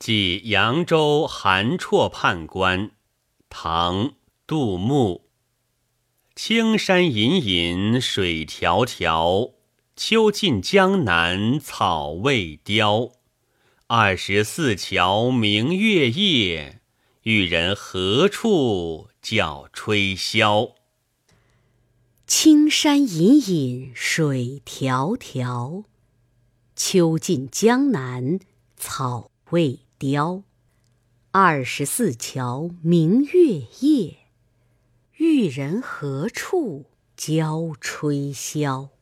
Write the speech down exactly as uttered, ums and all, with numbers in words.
即扬州韩绰判官。唐·杜牧。青山隐隐水迢迢，秋尽江南草未凋。二十四桥明月夜，玉人何处教吹箫。 青山隐隐水迢迢，秋尽江南草未凋。二十四桥明月夜，玉人何处教吹箫。